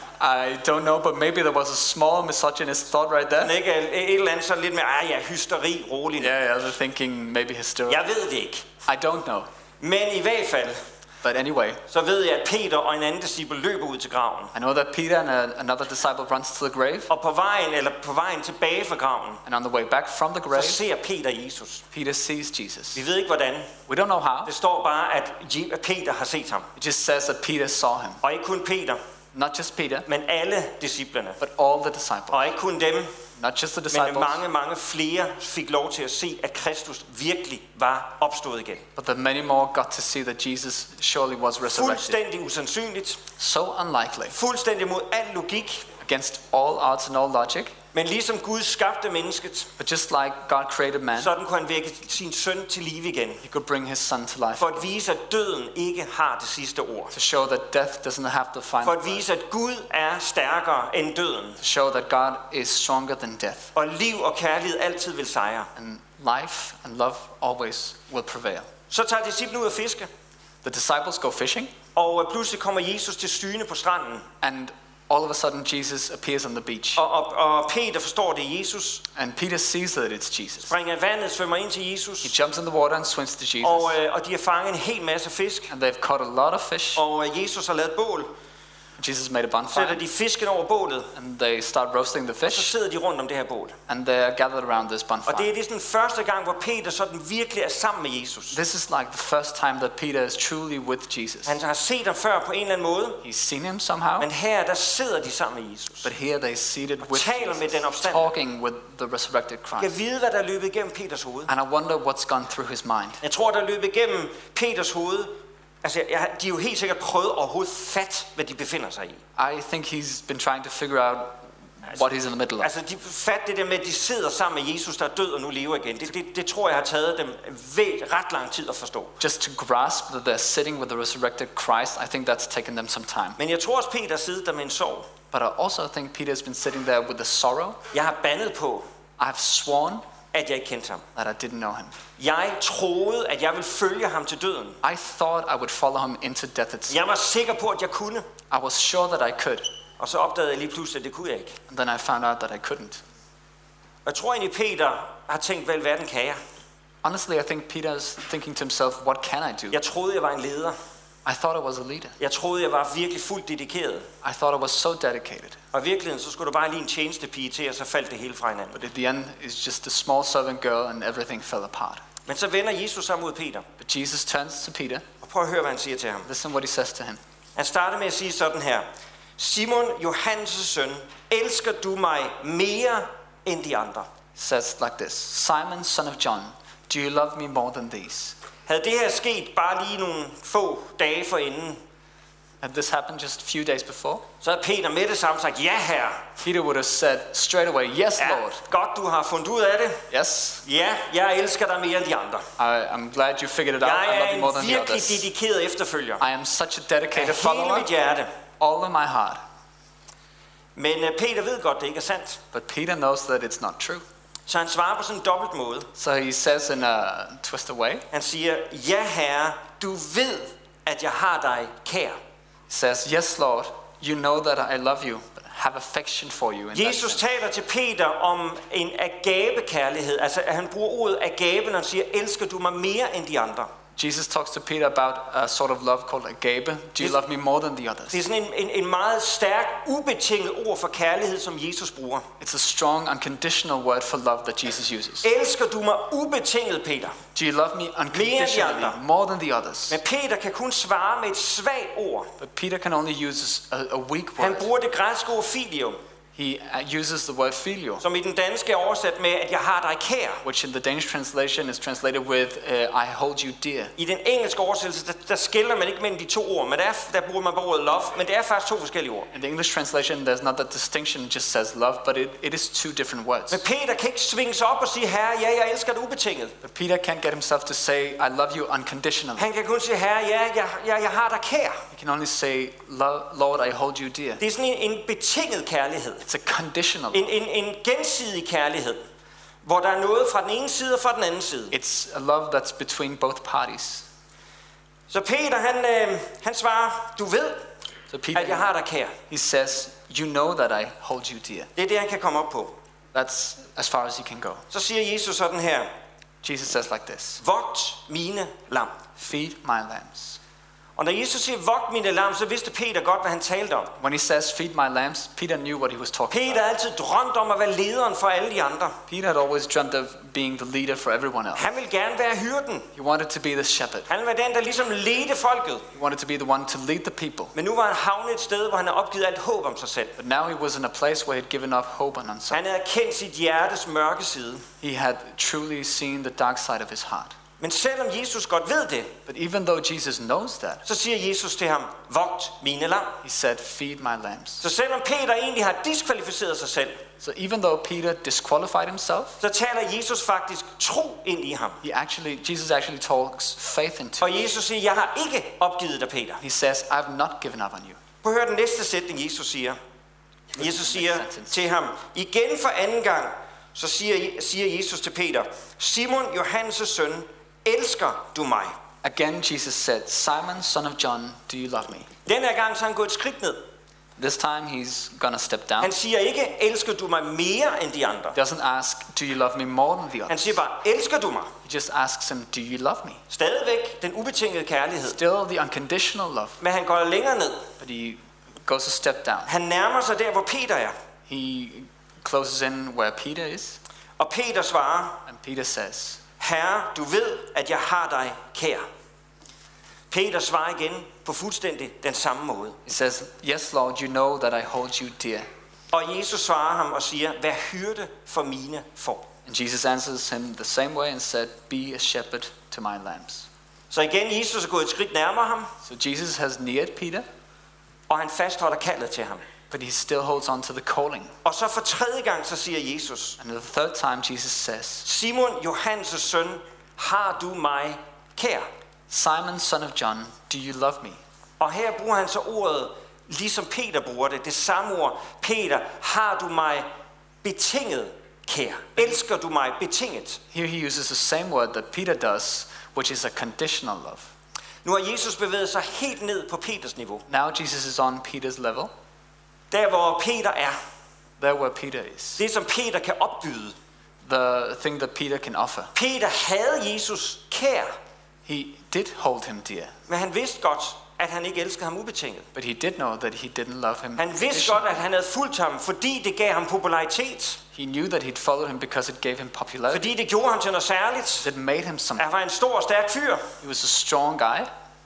[SPEAKER 3] I don't know, but maybe there was a small misogynist thought right there.
[SPEAKER 1] Men ikke et eller andet sådan lidt med, hysteri, rolig.
[SPEAKER 3] Yeah, they're thinking maybe hysteria.
[SPEAKER 1] Jeg ved det ikke.
[SPEAKER 3] I don't know.
[SPEAKER 1] Men i hvert fald,
[SPEAKER 3] But anyway,
[SPEAKER 1] så ved jeg, at Peter og en anden disciple løber ud til graven.
[SPEAKER 3] I know that Peter and another disciple runs to the grave.
[SPEAKER 1] Og på vejen tilbage fra graven,
[SPEAKER 3] And on the way back from the grave,
[SPEAKER 1] så ser Peter Jesus.
[SPEAKER 3] Peter sees Jesus.
[SPEAKER 1] Vi ved ikke hvordan.
[SPEAKER 3] We don't know how.
[SPEAKER 1] Det står bare, at Peter har set ham.
[SPEAKER 3] It just says that Peter saw him.
[SPEAKER 1] Og ikke kun Peter,
[SPEAKER 3] Not just Peter,
[SPEAKER 1] men alle disciplerne.
[SPEAKER 3] but all the disciples.
[SPEAKER 1] Og ikke kun dem,
[SPEAKER 3] Not just the
[SPEAKER 1] men
[SPEAKER 3] disciples,
[SPEAKER 1] mange flere fik lov til at se, at Kristus virkelig var opstået igen.
[SPEAKER 3] but that many more got to see that Jesus surely was resurrected.
[SPEAKER 1] Fuldstændig usandsynligt.
[SPEAKER 3] So unlikely,
[SPEAKER 1] Fuldstændig mod al logik.
[SPEAKER 3] against all odds and all logic.
[SPEAKER 1] Men ligesom Gud skabte mennesket,
[SPEAKER 3] But just like God created man,
[SPEAKER 1] sådan kunne han vække sin søn til live igen.
[SPEAKER 3] he could bring his son to life.
[SPEAKER 1] For at vise, at døden ikke har det sidste ord.
[SPEAKER 3] To show that death doesn't have the final
[SPEAKER 1] For at
[SPEAKER 3] word.
[SPEAKER 1] vise, at Gud er stærkere end døden.
[SPEAKER 3] To show that God is stronger than death.
[SPEAKER 1] Og liv og kærlighed altid vil sejre.
[SPEAKER 3] And life and love always will prevail.
[SPEAKER 1] Så tager disciplene ud at fiske.
[SPEAKER 3] The disciples go fishing,
[SPEAKER 1] Og pludselig kommer Jesus til syne på stranden.
[SPEAKER 3] and all of a sudden Jesus appears on the beach.
[SPEAKER 1] Og Peter forstår det Jesus.
[SPEAKER 3] And Peter sees that it's Jesus.
[SPEAKER 1] Springer i vandet, svømmer ind til Jesus.
[SPEAKER 3] He jumps in the water and swims to Jesus.
[SPEAKER 1] Og de har fanget en hel masse fisk.
[SPEAKER 3] And they've caught a lot of fish.
[SPEAKER 1] Og Jesus har lavet bål.
[SPEAKER 3] Jesus made a
[SPEAKER 1] Sætter
[SPEAKER 3] bonfire,
[SPEAKER 1] de fisken over bålet.
[SPEAKER 3] and they start roasting the
[SPEAKER 1] Så
[SPEAKER 3] fish,
[SPEAKER 1] sidder de rundt om det her bål.
[SPEAKER 3] and they're gathered around this
[SPEAKER 1] Og
[SPEAKER 3] bonfire.
[SPEAKER 1] det er sådan første gang, hvor Peter sådan virkelig er sammen med Jesus.
[SPEAKER 3] This is like the first time that Peter is truly with Jesus.
[SPEAKER 1] Han har set ham før på en eller anden måde.
[SPEAKER 3] He's seen him somehow,
[SPEAKER 1] Men her, der sidder de sammen med Jesus.
[SPEAKER 3] but here they're seated with
[SPEAKER 1] taler med den
[SPEAKER 3] Jesus,
[SPEAKER 1] opstandne.
[SPEAKER 3] talking with the resurrected
[SPEAKER 1] Jeg
[SPEAKER 3] Christ.
[SPEAKER 1] ved, hvad der er løbet igennem Peters hoved.
[SPEAKER 3] And I wonder what's gone through his mind.
[SPEAKER 1] Jeg tror, der er løbet igennem Peters hoved. Altså, de er jo helt sikkert prøvet overhovedet fat, hvad de befinder sig i.
[SPEAKER 3] I think he's been trying to figure out what he's in the middle of.
[SPEAKER 1] Altså, de fat det der med, at de sidder sammen med Jesus, der er død og nu lever igen. Det tror jeg har taget dem ret lang tid at forstå.
[SPEAKER 3] Just to grasp that they're sitting with the resurrected Christ, I think that's taken them some time.
[SPEAKER 1] Men jeg tror også, Peter sidder der med en sorg.
[SPEAKER 3] But I also think Peter's been sitting there with the sorrow.
[SPEAKER 1] Jeg har bandet på,
[SPEAKER 3] I've sworn
[SPEAKER 1] at jeg ikke kendte ham.
[SPEAKER 3] that I didn't know him.
[SPEAKER 1] Jeg troede, at jeg ville følge ham til døden.
[SPEAKER 3] I thought I would follow him into death itself.
[SPEAKER 1] Jeg var sikker på, at jeg kunne.
[SPEAKER 3] I was sure that I could,
[SPEAKER 1] Og så opdagede jeg lige pludselig, at det kunne jeg ikke.
[SPEAKER 3] and then I found out that I couldn't.
[SPEAKER 1] Og jeg tror egentlig, Peter har tænkt, hvad i verden kan jeg?
[SPEAKER 3] Honestly, I think Peter's thinking to himself, what can I do?
[SPEAKER 1] Jeg troede, jeg var en leder.
[SPEAKER 3] I thought I was a leader.
[SPEAKER 1] Jeg troede, jeg var virkelig fuldt dedikeret.
[SPEAKER 3] I thought I was so dedicated.
[SPEAKER 1] Og i virkeligheden, så skulle du bare lige en tjenestepige til, og så faldt det hele fra hinanden.
[SPEAKER 3] But at the end, it's just a small servant girl, and everything fell apart.
[SPEAKER 1] Men så vender Jesus sig mod Peter.
[SPEAKER 3] But Jesus turns to Peter.
[SPEAKER 1] Og prøv at høre, hvad han siger til ham.
[SPEAKER 3] Listen what he says to him.
[SPEAKER 1] Han starter med at sige sådan her. Simon, Johannes' søn, elsker du mig mere end de andre?
[SPEAKER 3] He says like this: Simon, son of John, do you love me more than these?
[SPEAKER 1] Havde det her sket bare lige nogle få dage forinden,
[SPEAKER 3] Had this happened just a few days before,
[SPEAKER 1] så havde Peter med det samme sagt, ja herre.
[SPEAKER 3] Peter would have said straight away, yes,
[SPEAKER 1] Ja,
[SPEAKER 3] Lord.
[SPEAKER 1] godt du har fundet ud af det.
[SPEAKER 3] Yes,
[SPEAKER 1] Ja, jeg elsker dig mere end de andre.
[SPEAKER 3] I'm glad you figured it out.
[SPEAKER 1] Jeg
[SPEAKER 3] I love
[SPEAKER 1] er
[SPEAKER 3] you more
[SPEAKER 1] en
[SPEAKER 3] than the
[SPEAKER 1] virkelig
[SPEAKER 3] others.
[SPEAKER 1] dedikeret efterfølger.
[SPEAKER 3] I am such a dedicated
[SPEAKER 1] Af hele
[SPEAKER 3] follower,
[SPEAKER 1] mit hjerte.
[SPEAKER 3] all of my heart.
[SPEAKER 1] Men Peter ved godt, det ikke er sandt.
[SPEAKER 3] But Peter knows that it's not true.
[SPEAKER 1] Så han svarer på sådan en dobbelt måde.
[SPEAKER 3] So he says in a twisted way,
[SPEAKER 1] Han siger, ja herre, du ved, at jeg har dig kær.
[SPEAKER 3] he says, yes, Lord, you know that I love you, but have affection for you. In that
[SPEAKER 1] Jesus
[SPEAKER 3] sense.
[SPEAKER 1] taler til Peter om en agabekærlighed. Altså at han bruger ordet agabe, når han siger, elsker du mig mere end de andre.
[SPEAKER 3] Jesus talks to Peter about a sort of love called agape. Do you love me more than the others?
[SPEAKER 1] Det er sådan en meget stærk, ubetinget ord for kærlighed, som Jesus bruger.
[SPEAKER 3] It's a strong, unconditional word for love that Jesus uses.
[SPEAKER 1] Elsker du mig ubetinget, Peter?
[SPEAKER 3] Do you love me unconditionally
[SPEAKER 1] andre.
[SPEAKER 3] more than the others?
[SPEAKER 1] Men Peter kan kun svare med et svagt ord.
[SPEAKER 3] But Peter can only use a weak
[SPEAKER 1] Han
[SPEAKER 3] word.
[SPEAKER 1] bruger det græske ord filio.
[SPEAKER 3] He uses the word filio,
[SPEAKER 1] som i den danske er oversat med, at jeg har dig kær.
[SPEAKER 3] which in the Danish translation is translated with I hold you dear.
[SPEAKER 1] I den engelske oversættelse, der skiller man ikke mellem de to ord, men der bruger man bare ordet love, men det er faktisk to forskellige ord.
[SPEAKER 3] In the English translation, there's not that distinction, it just says love, but it is two different words.
[SPEAKER 1] Men Peter kan ikke svinge sig op og sige, herre, ja, jeg elsker dig ubetinget.
[SPEAKER 3] But Peter can't get himself to say, I love you unconditionally.
[SPEAKER 1] Han kan kun sige, herre, ja, jeg har dig kær.
[SPEAKER 3] He can only say, Lord, I hold you dear.
[SPEAKER 1] Det er sådan en betinget kærlighed.
[SPEAKER 3] It's a conditional.
[SPEAKER 1] En gensidig kærlighed, hvor der er noget fra den ene side og fra den anden side.
[SPEAKER 3] It's a love that's between both parties.
[SPEAKER 1] Så Peter, han svarer, du ved,
[SPEAKER 3] So Peter,
[SPEAKER 1] at jeg har dig kær.
[SPEAKER 3] he says, you know that I hold you dear.
[SPEAKER 1] Det er det, han kan komme op på.
[SPEAKER 3] That's as far as he can go.
[SPEAKER 1] Så siger Jesus sådan her,
[SPEAKER 3] Jesus says like this,
[SPEAKER 1] vogt mine lam.
[SPEAKER 3] feed my lambs.
[SPEAKER 1] Og når Jesus siger, vogt mine lam, så vidste Peter godt, hvad han talte om.
[SPEAKER 3] When he says, feed my lambs, Peter knew what he was talking
[SPEAKER 1] Peter
[SPEAKER 3] about.
[SPEAKER 1] har altid drømt om at være lederen for alle de andre.
[SPEAKER 3] Peter had always dreamt of being the leader for everyone else.
[SPEAKER 1] Han ville gerne være hyrden.
[SPEAKER 3] He wanted to be the shepherd.
[SPEAKER 1] Han var den, der ligesom ledte folket.
[SPEAKER 3] He wanted to be the one to lead the people.
[SPEAKER 1] Men nu var han havnet et sted, hvor han havde opgivet alt håb om sig selv.
[SPEAKER 3] But now he was in a place where he'd given up hope on himself.
[SPEAKER 1] Han havde kendt sit hjertes mørke side.
[SPEAKER 3] He had truly seen the dark side of his heart.
[SPEAKER 1] Men selvom Jesus godt ved det,
[SPEAKER 3] But even though Jesus knows that,
[SPEAKER 1] så siger Jesus til ham, vogt mine lam.
[SPEAKER 3] he said, feed my lambs.
[SPEAKER 1] Så selvom Peter egentlig har diskvalificeret sig selv,
[SPEAKER 3] So even though Peter disqualified himself,
[SPEAKER 1] så taler Jesus faktisk tro ind i ham.
[SPEAKER 3] Jesus actually talks faith into
[SPEAKER 1] Og
[SPEAKER 3] him.
[SPEAKER 1] Jesus siger, jeg har ikke opgivet dig, Peter.
[SPEAKER 3] He says, I've not given up on you.
[SPEAKER 1] Prøv at høre den næste sætning, Jesus siger. Jesus siger
[SPEAKER 3] sentence.
[SPEAKER 1] til ham, igen for anden gang, så siger Jesus til Peter, Simon, Johannes' søn, elsker du mig?
[SPEAKER 3] Again, Jesus said, Simon, son of John, do you love me?
[SPEAKER 1] Den her gang så er han gået et skridt ned.
[SPEAKER 3] This time he's gonna step down.
[SPEAKER 1] Han siger ikke, elsker du mig mere end de andre?
[SPEAKER 3] He doesn't ask, do you love me more than the
[SPEAKER 1] Han
[SPEAKER 3] others?
[SPEAKER 1] siger bare, elsker du mig?
[SPEAKER 3] He just asks him, do you love me?
[SPEAKER 1] Stadigvæk den ubetingede kærlighed.
[SPEAKER 3] Still the unconditional love,
[SPEAKER 1] Men han går længere ned.
[SPEAKER 3] but he goes a step down.
[SPEAKER 1] Han nærmer sig der, hvor Peter er.
[SPEAKER 3] He closes in where Peter is,
[SPEAKER 1] Og Peter svarer,
[SPEAKER 3] and Peter says,
[SPEAKER 1] Herre, du ved, at jeg har dig kær. Peter svarer igen på fuldstændig den samme måde.
[SPEAKER 3] he says, yes, Lord, you know that I hold you dear.
[SPEAKER 1] Og Jesus svarer ham og siger, vær hyrde for mine får.
[SPEAKER 3] And Jesus answers him the same way and said, be a shepherd to my lambs.
[SPEAKER 1] Så igen, Jesus er gået et skridt nærmere ham,
[SPEAKER 3] So Jesus has neared Peter,
[SPEAKER 1] og han fastholder kaldet til ham.
[SPEAKER 3] but he still holds on to the calling.
[SPEAKER 1] Og så for tredje gang, så siger Jesus,
[SPEAKER 3] And the third time Jesus says,
[SPEAKER 1] Simon, Johannes' søn, har du mig kær?
[SPEAKER 3] Simon, son of John, do you love me?
[SPEAKER 1] Og her bruger han så ordet, ligesom Peter bruger det samme ord. Peter, har du mig betinget kær? Elsker du mig betinget?
[SPEAKER 3] Here he uses the same word that Peter does, which is a conditional love.
[SPEAKER 1] Nu har Jesus bevæget sig helt ned på Peters niveau.
[SPEAKER 3] Now Jesus is on Peter's level,
[SPEAKER 1] Der hvor Peter er.
[SPEAKER 3] there where Peter is.
[SPEAKER 1] Det som Peter kan opbyde.
[SPEAKER 3] The thing that Peter can offer.
[SPEAKER 1] Peter havde Jesus kær,
[SPEAKER 3] He did hold him dear,
[SPEAKER 1] men han vidste godt, at han ikke elskede ham ubetinget.
[SPEAKER 3] but he did know that he didn't love him.
[SPEAKER 1] Han vidste godt, at han havde fulgt ham, fordi det gav ham popularitet.
[SPEAKER 3] He knew that he'd followed him because it gave him popularity.
[SPEAKER 1] Fordi det gjorde ham til noget særligt.
[SPEAKER 3] It made him something.
[SPEAKER 1] Han var en stor og stærk fyr.
[SPEAKER 3] He was a strong guy.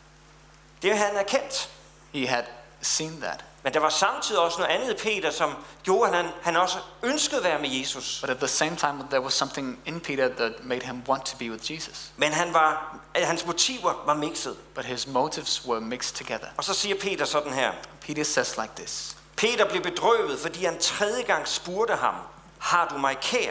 [SPEAKER 1] Det havde han erkendt.
[SPEAKER 3] He had seen that.
[SPEAKER 1] Men der var samtidig også noget andet i Peter, som gjorde, at han også ønskede at være med Jesus.
[SPEAKER 3] But at the same time, there was something in Peter that made him want to be with Jesus.
[SPEAKER 1] Men hans motiver var mixet.
[SPEAKER 3] But his motives were mixed together.
[SPEAKER 1] Og så siger Peter sådan her.
[SPEAKER 3] Peter says like this.
[SPEAKER 1] Peter blev bedrøvet, fordi han tredje gang spurgte ham, har du mig kær?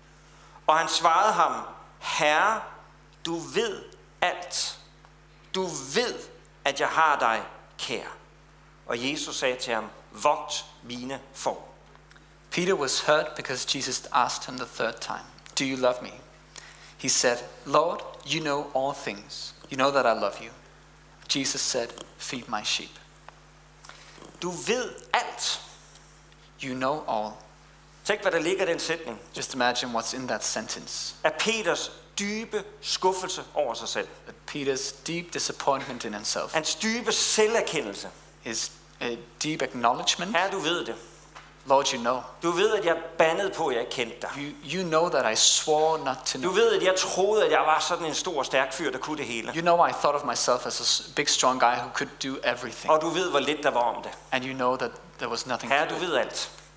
[SPEAKER 1] Og han svarede ham, Herre, du ved alt. Du ved, at jeg har dig kær. Og Jesus sagde til ham, vogt mine får.
[SPEAKER 3] Peter was hurt because Jesus asked him the third time, do you love me? He said, Lord, you know all things. You know that I love you. Jesus said, feed my sheep.
[SPEAKER 1] Du ved alt.
[SPEAKER 3] You know all.
[SPEAKER 1] Tænk, hvad der ligger i den sætning.
[SPEAKER 3] Just imagine what's in that sentence.
[SPEAKER 1] Af Peters dybe skuffelse over sig selv.
[SPEAKER 3] That Peter's deep disappointment in himself.
[SPEAKER 1] Hans dybe selverkendelse.
[SPEAKER 3] His deep acknowledgement.
[SPEAKER 1] Herre, du ved det.
[SPEAKER 3] Lord, you know.
[SPEAKER 1] Du ved, at jeg bandede på, at jeg ikke kendte dig.
[SPEAKER 3] You know that I swore not to
[SPEAKER 1] Du
[SPEAKER 3] know.
[SPEAKER 1] ved, at jeg troede, at jeg var sådan en stor, stærk fyr, der kunne det hele.
[SPEAKER 3] You know I thought of myself as a big, strong guy who could do everything.
[SPEAKER 1] Og du ved, hvor lidt der var om det.
[SPEAKER 3] And you know that there was nothing
[SPEAKER 1] Herre,
[SPEAKER 3] to
[SPEAKER 1] du
[SPEAKER 3] it.
[SPEAKER 1] ved alt.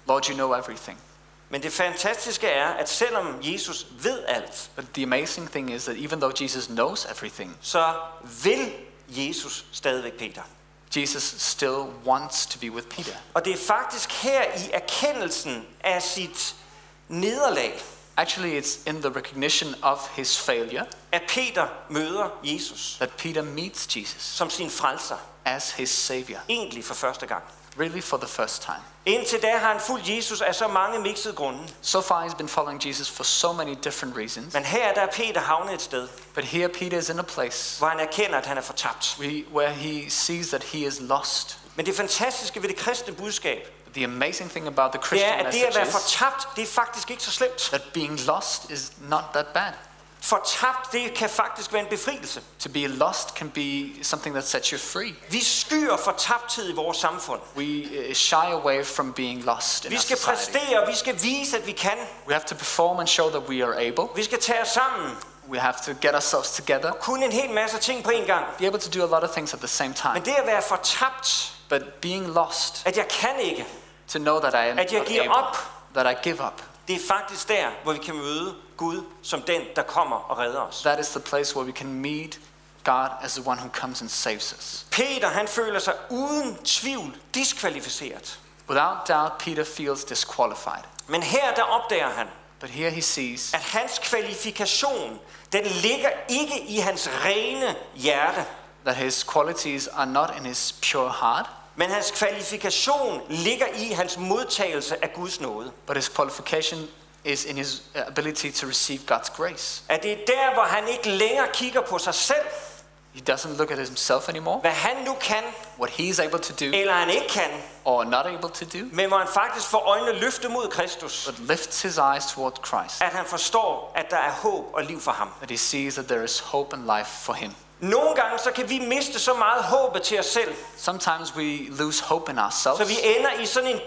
[SPEAKER 3] Lord, you know everything.
[SPEAKER 1] Men det fantastiske er, at selvom Jesus ved alt,
[SPEAKER 3] But the amazing thing is that even though Jesus knows everything,
[SPEAKER 1] så vil Jesus stadigvæk Peter.
[SPEAKER 3] Jesus still wants to be with Peter.
[SPEAKER 1] Og det er faktisk her i erkendelsen af sit nederlag,
[SPEAKER 3] Actually, it's in the recognition of his failure
[SPEAKER 1] at Peter møder Jesus
[SPEAKER 3] that Peter meets Jesus
[SPEAKER 1] som sin frelser,
[SPEAKER 3] as his savior,
[SPEAKER 1] egentlig for første gang.
[SPEAKER 3] really for the first time.
[SPEAKER 1] Indtil da har han fulgt Jesus af så mange mixede grunde.
[SPEAKER 3] So far, he's been following Jesus for so many different reasons.
[SPEAKER 1] Men her der er Peter havnet et sted,
[SPEAKER 3] But here, Peter is in a place
[SPEAKER 1] hvor han erkender, at han er fortabt.
[SPEAKER 3] where he sees that he is lost.
[SPEAKER 1] Men det fantastiske ved det kristne budskab,
[SPEAKER 3] The amazing thing about the
[SPEAKER 1] det er,
[SPEAKER 3] Christian
[SPEAKER 1] at det at være
[SPEAKER 3] message is
[SPEAKER 1] fortabt, det er faktisk ikke så slemt.
[SPEAKER 3] that being lost is not that bad.
[SPEAKER 1] Fortabt, det kan faktisk være en befrielse.
[SPEAKER 3] To be lost can be something that sets you free.
[SPEAKER 1] Vi skyer fortabthed i vores samfund.
[SPEAKER 3] We shy away from being lost in
[SPEAKER 1] Vi
[SPEAKER 3] our
[SPEAKER 1] skal
[SPEAKER 3] society.
[SPEAKER 1] præstere, vi skal vise, at vi kan.
[SPEAKER 3] We have to perform and show that we are able.
[SPEAKER 1] Vi skal tage os sammen.
[SPEAKER 3] We have to get ourselves together,
[SPEAKER 1] Kun en hel masse ting på en gang.
[SPEAKER 3] be able to do a lot of things at the same time.
[SPEAKER 1] Men det at være fortabt,
[SPEAKER 3] But being lost,
[SPEAKER 1] at jeg kan ikke,
[SPEAKER 3] to know that I am
[SPEAKER 1] at jeg
[SPEAKER 3] not
[SPEAKER 1] giver
[SPEAKER 3] able,
[SPEAKER 1] op,
[SPEAKER 3] that I give up,
[SPEAKER 1] det er faktisk der, hvor vi kan møde Gud som den, der kommer og redder os.
[SPEAKER 3] that is the place where we can meet God as the one who comes and saves us.
[SPEAKER 1] Peter, han føler sig uden tvivl diskvalificeret.
[SPEAKER 3] Without doubt, Peter feels disqualified.
[SPEAKER 1] Men her der opdager han,
[SPEAKER 3] But here he sees
[SPEAKER 1] at hans kvalifikation, den ligger ikke i hans rene hjerte,
[SPEAKER 3] that his qualities are not in his pure heart,
[SPEAKER 1] men hans kvalifikation ligger i hans modtagelse af Guds nåde.
[SPEAKER 3] but his qualification is in his ability to receive God's grace.
[SPEAKER 1] At det er der, hvor han ikke længere kigger på sig selv,
[SPEAKER 3] He doesn't look at himself anymore,
[SPEAKER 1] hvad han nu kan,
[SPEAKER 3] what he is able to do
[SPEAKER 1] eller han ikke kan,
[SPEAKER 3] or not able to do,
[SPEAKER 1] men hvor han faktisk får øjnene løftet mod Kristus.
[SPEAKER 3] but lifts his eyes toward Christ.
[SPEAKER 1] At han forstår, at der er håb og liv for ham.
[SPEAKER 3] That he sees that there is hope and life for him.
[SPEAKER 1] Nogle gange så kan vi miste så meget håbet til os selv,
[SPEAKER 3] Sometimes we lose hope in
[SPEAKER 1] så
[SPEAKER 3] ourselves,
[SPEAKER 1] vi ender i sådan en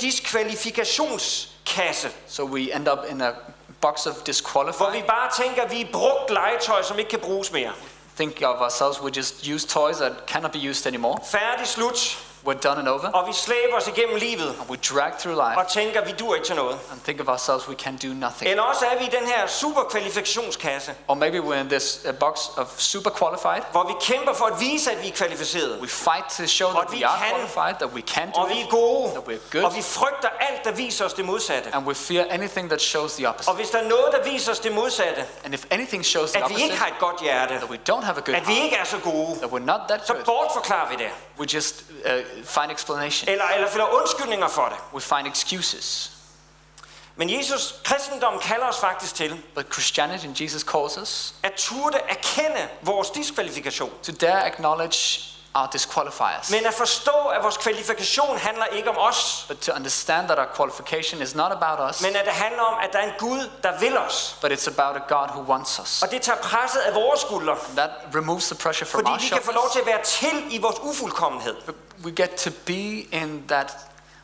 [SPEAKER 1] diskvalifikationskasse,
[SPEAKER 3] so we end up in a box of
[SPEAKER 1] hvor
[SPEAKER 3] disqualified.
[SPEAKER 1] vi bare tænker, at vi er brugt legetøj, som ikke kan bruges mere.
[SPEAKER 3] Think of ourselves, we just use toys that cannot be used anymore.
[SPEAKER 1] Færdig, slut,
[SPEAKER 3] We're done and over,
[SPEAKER 1] og vi slæber os igennem livet
[SPEAKER 3] and we drag through life
[SPEAKER 1] og tænker, at vi dur ikke til noget.
[SPEAKER 3] and think of ourselves, we can do nothing.
[SPEAKER 1] Eller også er vi i den her superkvalifikationskasse,
[SPEAKER 3] Or maybe we're in this box of super qualified.
[SPEAKER 1] hvor vi kæmper for at vise, at vi er kvalificerede,
[SPEAKER 3] We fight to show
[SPEAKER 1] Og
[SPEAKER 3] that
[SPEAKER 1] vi
[SPEAKER 3] we are
[SPEAKER 1] kan.
[SPEAKER 3] qualified, that we can do
[SPEAKER 1] og vi er
[SPEAKER 3] it,
[SPEAKER 1] gode,
[SPEAKER 3] that we're good,
[SPEAKER 1] og vi frygter alt, der viser os det modsatte.
[SPEAKER 3] and we fear anything that shows the
[SPEAKER 1] Og
[SPEAKER 3] opposite.
[SPEAKER 1] hvis der er noget, der viser os det modsatte,
[SPEAKER 3] And if anything shows the
[SPEAKER 1] at vi ikke
[SPEAKER 3] opposite,
[SPEAKER 1] har et godt hjerte,
[SPEAKER 3] that we don't have a good
[SPEAKER 1] at vi
[SPEAKER 3] heart,
[SPEAKER 1] ikke er så gode,
[SPEAKER 3] that we're not that
[SPEAKER 1] så
[SPEAKER 3] good,
[SPEAKER 1] bortforklarer vi det.
[SPEAKER 3] we just find explanation.
[SPEAKER 1] Eller finder undskyldninger for det.
[SPEAKER 3] We find excuses.
[SPEAKER 1] Men kristendom kalder os faktisk til
[SPEAKER 3] But Christianity and Jesus calls us
[SPEAKER 1] at turde erkende vores diskvalifikation.
[SPEAKER 3] to dare acknowledge our disqualifiers.
[SPEAKER 1] Men at forstå, at vores kvalifikation handler ikke om os,
[SPEAKER 3] But to understand that our qualification is not about us,
[SPEAKER 1] men at det handler om, at der er en Gud, der vil os.
[SPEAKER 3] but it's about a God who wants us.
[SPEAKER 1] Og det tager presset af vores skuldre,
[SPEAKER 3] That removes the pressure from
[SPEAKER 1] fordi
[SPEAKER 3] our
[SPEAKER 1] vi kan få lov
[SPEAKER 3] shoulders.
[SPEAKER 1] til at være til i vores ufuldkommenhed,
[SPEAKER 3] We get to be in that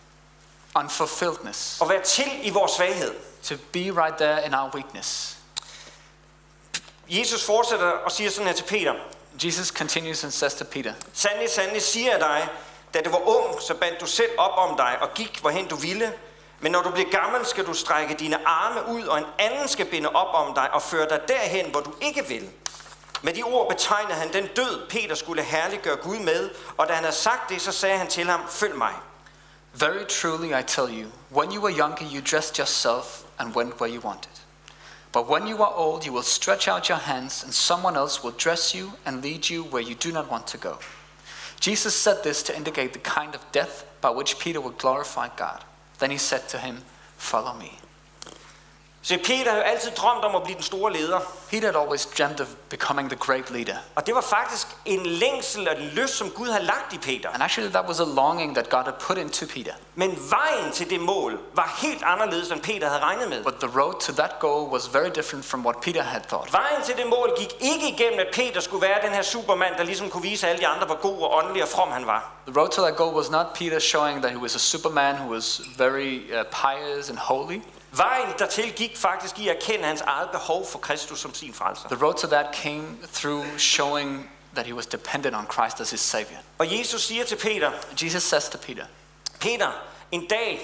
[SPEAKER 3] unfulfilledness,
[SPEAKER 1] og være til i vores svaghed.
[SPEAKER 3] to be right there in our weakness.
[SPEAKER 1] Jesus fortsætter og siger sådan her til Peter:
[SPEAKER 3] Jesus continues and says to Peter,
[SPEAKER 1] Sandelig, sandelig siger jeg dig, da du var ung, så bandt du selv op om dig og gik, hvorhen du ville. Men når du bliver gammel, skal du strække dine arme ud, og en anden skal binde op om dig og føre dig derhen, hvor du ikke vil. Med de ord betegnede han den død, Peter skulle herliggøre Gud med, og da han havde sagt det, så sagde han til ham: følg mig.
[SPEAKER 3] very truly I tell you, when you were younger you dressed yourself and went where you wanted. But when you are old you will stretch out your hands and someone else will dress you and lead you where you do not want to go. Jesus said this to indicate the kind of death by which Peter would glorify God. Then he said to him, follow me.
[SPEAKER 1] Så Peter havde jo altid drømt om at blive den store leder.
[SPEAKER 3] Peter had always dreamt of becoming the great leader.
[SPEAKER 1] Og det var faktisk en længsel og en lyst, som Gud havde lagt i Peter.
[SPEAKER 3] And actually that was a longing that God had put into Peter.
[SPEAKER 1] Men vejen til det mål var helt anderledes, end Peter havde regnet med.
[SPEAKER 3] But the road to that goal was very different from what Peter had thought.
[SPEAKER 1] Vejen til det mål gik ikke igennem, at Peter skulle være den her supermand, der ligesom kunne vise alle de andre, hvor god og åndelig og from han var.
[SPEAKER 3] The road to that goal was not Peter showing that he was a superman who was very pious and holy.
[SPEAKER 1] Vejen dertil gik faktisk i at erkende hans eget behov for Kristus som sin frelser.
[SPEAKER 3] The road to that came through showing that he was dependent on Christ as his savior.
[SPEAKER 1] Og Jesus siger til Peter:
[SPEAKER 3] Jesus says to Peter,
[SPEAKER 1] Peter, en dag,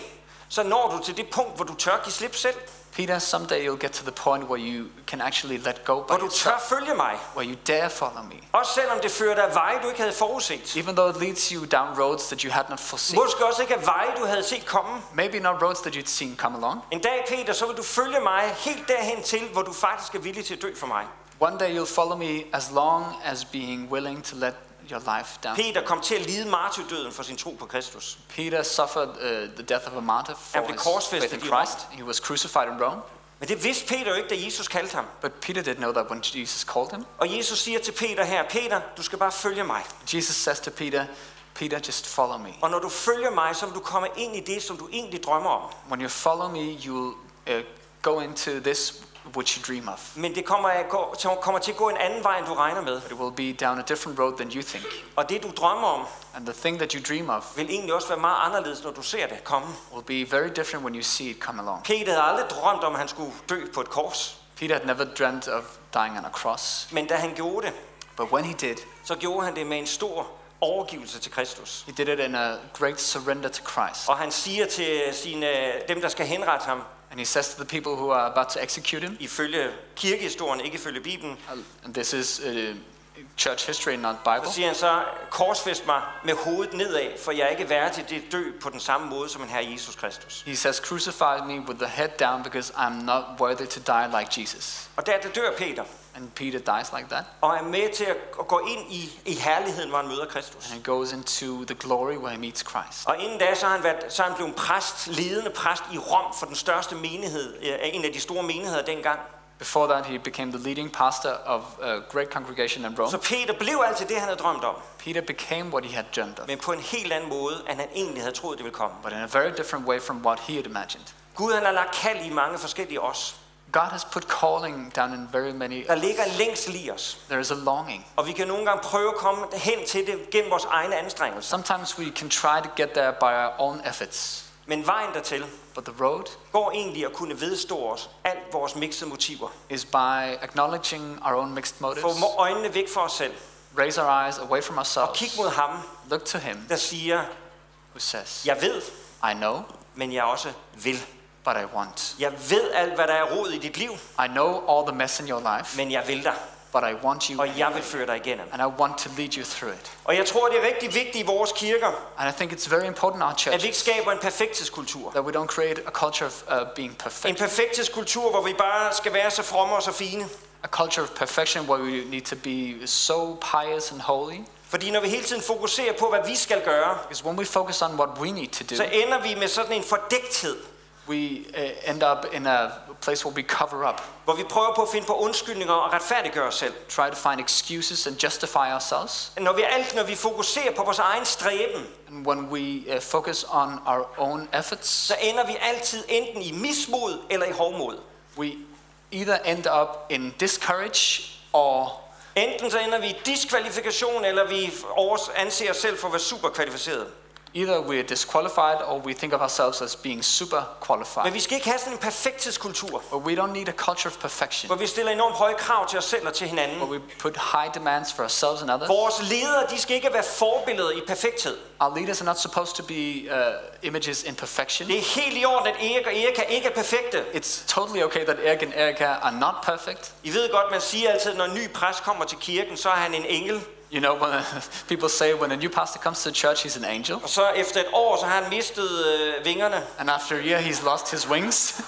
[SPEAKER 1] så når du til det punkt, hvor du tør give slip selv.
[SPEAKER 3] Peter, someday you'll get to the point where you can actually let go by
[SPEAKER 1] Hvor du tør
[SPEAKER 3] yourself,
[SPEAKER 1] følge mig.
[SPEAKER 3] where you dare follow me.
[SPEAKER 1] Også selvom det fører dig af veje, du ikke havde forudset.
[SPEAKER 3] Even though it leads you down roads that you had not foreseen.
[SPEAKER 1] Måske også ikke af veje, du havde set komme.
[SPEAKER 3] Maybe not roads that you'd seen come along.
[SPEAKER 1] En dag, Peter, så vil du følge mig helt derhen til, hvor du faktisk er villig til at dø for mig.
[SPEAKER 3] One day you'll follow me as long as being willing to let your life down.
[SPEAKER 1] Peter kom til at lide martyrdøden for sin tro på Kristus.
[SPEAKER 3] Peter suffered the death of a martyr
[SPEAKER 1] Han
[SPEAKER 3] for
[SPEAKER 1] blev
[SPEAKER 3] his
[SPEAKER 1] korsfæstet
[SPEAKER 3] faith in
[SPEAKER 1] i Rom.
[SPEAKER 3] Christ. He was crucified in Rome.
[SPEAKER 1] Men det vidste Peter jo ikke, da Jesus kaldte ham.
[SPEAKER 3] But Peter didn't know that when Jesus called him.
[SPEAKER 1] Og Jesus siger til Peter her, Peter, du skal bare følge mig.
[SPEAKER 3] Jesus says to Peter, Peter, just follow me.
[SPEAKER 1] Og når du følger mig, så vil du komme ind i det, som du egentlig drømmer om.
[SPEAKER 3] When you follow me, you will go into this which you dream of.
[SPEAKER 1] Men det kommer til at gå en anden vej, end du regner med.
[SPEAKER 3] But it will be down a different road than you think.
[SPEAKER 1] Og det, du drømmer om,
[SPEAKER 3] And the thing that you dream of
[SPEAKER 1] vil egentlig også være meget anderledes, når du ser det komme.
[SPEAKER 3] will be very different when you see it come along.
[SPEAKER 1] Peter havde aldrig drømt om, at han skulle dø på et kors.
[SPEAKER 3] Peter had never dreamt of dying on a cross.
[SPEAKER 1] Men da han gjorde det,
[SPEAKER 3] But when he did,
[SPEAKER 1] så gjorde han det med en stor overgivelse til Kristus.
[SPEAKER 3] he did it in a great surrender to Christ.
[SPEAKER 1] Og han siger til dem, der skal henrette ham,
[SPEAKER 3] And he says to the people who are about to execute him,
[SPEAKER 1] ifølge kirkehistorien, ikke ifølge Bibelen,
[SPEAKER 3] and this is church history, not Bible.
[SPEAKER 1] så siger han så, korsfæst mig med hovedet nedad, for jeg er ikke værdig til at dø på den samme måde som en herre Jesus Kristus.
[SPEAKER 3] He says, crucify me with the head down because I'm not worthy to die like Jesus.
[SPEAKER 1] Og der dør Peter,
[SPEAKER 3] And Peter dies like that.
[SPEAKER 1] og er med til at gå ind i herligheden, hvor han møder Kristus.
[SPEAKER 3] And he goes into the glory where he meets Christ.
[SPEAKER 1] Og inden da, så er han blevet præst, ledende præst i Rom for den største menighed, en af de store menigheder dengang.
[SPEAKER 3] Before that, he became the leading pastor of a great congregation in Rome.
[SPEAKER 1] Så Peter blev altid det, han havde drømt om,
[SPEAKER 3] Peter became what he had dreamed of,
[SPEAKER 1] men på en helt anden måde, end han egentlig havde troet, det ville komme.
[SPEAKER 3] but in a very different way from what he had imagined.
[SPEAKER 1] Gud, han har lagt kald i mange forskellige os.
[SPEAKER 3] God has put calling down in very many
[SPEAKER 1] Der
[SPEAKER 3] of
[SPEAKER 1] ligger en
[SPEAKER 3] us.
[SPEAKER 1] længsel i os,
[SPEAKER 3] There is a longing.
[SPEAKER 1] og vi kan nogle gange prøve at komme hen til det gennem vores egne anstrengelser.
[SPEAKER 3] Sometimes we can try to get there by our own efforts,
[SPEAKER 1] Men vejen dertil
[SPEAKER 3] but the road
[SPEAKER 1] går egentlig at kunne vedstå os alt vores mixede motiver.
[SPEAKER 3] is by acknowledging our own mixed motives,
[SPEAKER 1] Få øjnene væk fra os selv
[SPEAKER 3] raise our eyes away from
[SPEAKER 1] og
[SPEAKER 3] ourselves,
[SPEAKER 1] kig mod ham,
[SPEAKER 3] look to him
[SPEAKER 1] der siger,
[SPEAKER 3] who says,
[SPEAKER 1] jeg ved,
[SPEAKER 3] I know,
[SPEAKER 1] men jeg også vil.
[SPEAKER 3] but I want.
[SPEAKER 1] Jeg ved alt, hvad der er rod i dit liv,
[SPEAKER 3] I know all the mess in your life,
[SPEAKER 1] men jeg vil dig,
[SPEAKER 3] but I want you,
[SPEAKER 1] og jeg vil føre dig igennem.
[SPEAKER 3] and I want to lead you through it.
[SPEAKER 1] Og jeg tror, det er rigtig vigtigt i vores kirker,
[SPEAKER 3] And I think it's very important in our
[SPEAKER 1] at vi ikke
[SPEAKER 3] churches
[SPEAKER 1] skaber en perfekthedskultur.
[SPEAKER 3] that we don't create a culture of being
[SPEAKER 1] En
[SPEAKER 3] perfect,
[SPEAKER 1] perfekthedskultur, hvor vi bare skal være så fromme og så fine.
[SPEAKER 3] a culture of perfection where we need to be so pious and holy.
[SPEAKER 1] Fordi når vi hele tiden fokuserer på, hvad vi skal gøre,
[SPEAKER 3] Because when we focus on what we need to do,
[SPEAKER 1] så ender vi med sådan en fordækthed,
[SPEAKER 3] we end up in a place where we cover up,
[SPEAKER 1] hvor vi prøver på at finde på undskyldninger og retfærdiggøre os selv.
[SPEAKER 3] try to find excuses and justify ourselves.
[SPEAKER 1] Når vi fokuserer på vores egen stræben,
[SPEAKER 3] And when we focus on our own efforts,
[SPEAKER 1] så ender vi altid enten i mismod eller i hovmod.
[SPEAKER 3] we either end up in discourage or
[SPEAKER 1] Enten så ender vi i diskvalifikation, eller vi anser os selv for at være super kvalificeret.
[SPEAKER 3] either we're disqualified or we think of ourselves as being super
[SPEAKER 1] Men
[SPEAKER 3] qualified.
[SPEAKER 1] vi skal ikke have sådan en perfekthedskultur,
[SPEAKER 3] But we don't need a culture of perfection,
[SPEAKER 1] hvor vi stiller enormt høje krav til os selv og til
[SPEAKER 3] where
[SPEAKER 1] hinanden.
[SPEAKER 3] we put high demands for ourselves and others.
[SPEAKER 1] Vores ledere, de skal ikke være forbilleder i perfekthed.
[SPEAKER 3] Our leaders are not supposed to be images in perfection.
[SPEAKER 1] Det er helt i orden, at Erik og Erika ikke er perfekte.
[SPEAKER 3] It's totally okay that Eric and Erica are not perfect.
[SPEAKER 1] I ved godt, man siger altid, når en ny præst kommer til kirken, så er han en engel.
[SPEAKER 3] You know, when people say when a new pastor comes to church, he's an angel,
[SPEAKER 1] Og så efter et år, så har han mistet vingerne.
[SPEAKER 3] and after a year, he's lost his wings.